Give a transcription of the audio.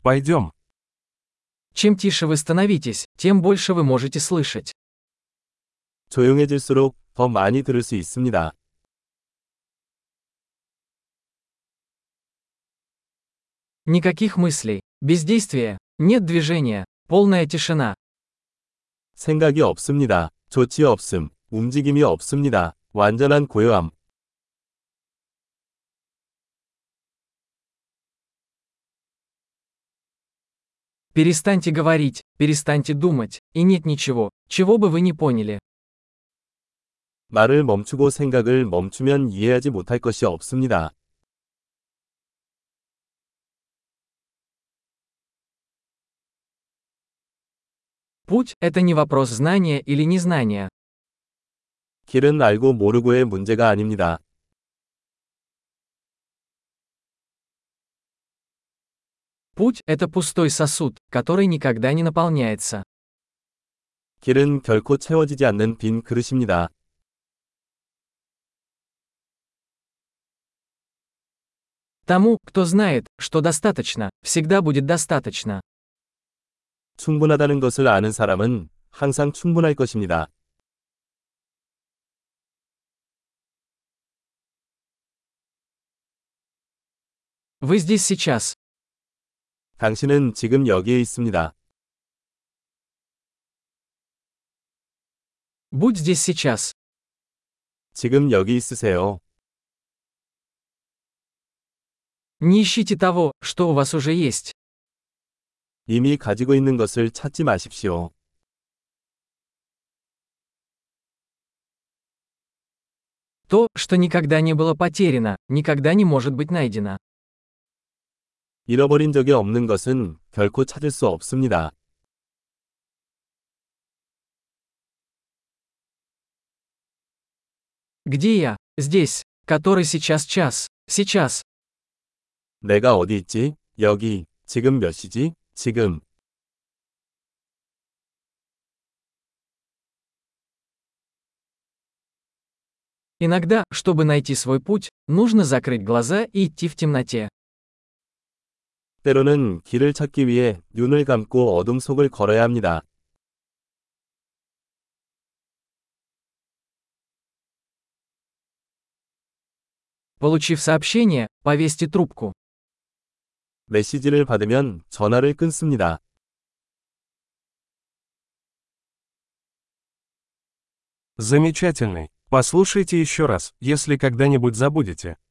Пойдем. Чем тише вы становитесь, тем больше вы можете слышать. 조용해질수록 더 많이 들을 수 있습니다. Никаких мыслей, бездействия, нет движения, полная тишина. 생각이 없습니다. 조치 없음, 움직임이 없습니다. 완전한 고요함. Перестаньте говорить, перестаньте думать, и нет ничего, чего бы вы не поняли. 말을 멈추고 생각을 멈추면 이해하지 못할 것이 없습니다. Путь – это не вопрос знания или незнания. 길은 알고 모르고의 문제가 아닙니다. Путь – это пустой сосуд, который никогда не наполняется. 길은 결코 채워지지 않는 빈 그릇입니다. Тому, кто знает, что достаточно, всегда будет достаточно. 충분하다는 것을 아는 사람은 항상 충분할 것입니다. Вы здесь сейчас. 당신은 지금 여기에 있습니다. Будь здесь сейчас. 지금 여기 있으세요. Не ищите того, что у вас уже есть. 이미 가지고 있는 것을 찾지 마십시오. То, что никогда не было потеряно, никогда не может быть найдено. 잃어버린 적이 없는 것은 결코 찾을 수 없습니다. Где я? Здесь. Который сейчас час. Сейчас. 내가 어디 있지? 여기. 지금 몇 시지? 지금. Иногда, чтобы найти свой путь, нужно закрыть глаза и идти в темноте. 때로는 길을 찾기 위해 눈을 감고 어둠 속을 걸어야 합니다. Получив сообщение, повесьте трубку. 메시지를 받으면 전화를 끊습니다. Замечательный. Послушайте еще раз, если когда-нибудь забудете.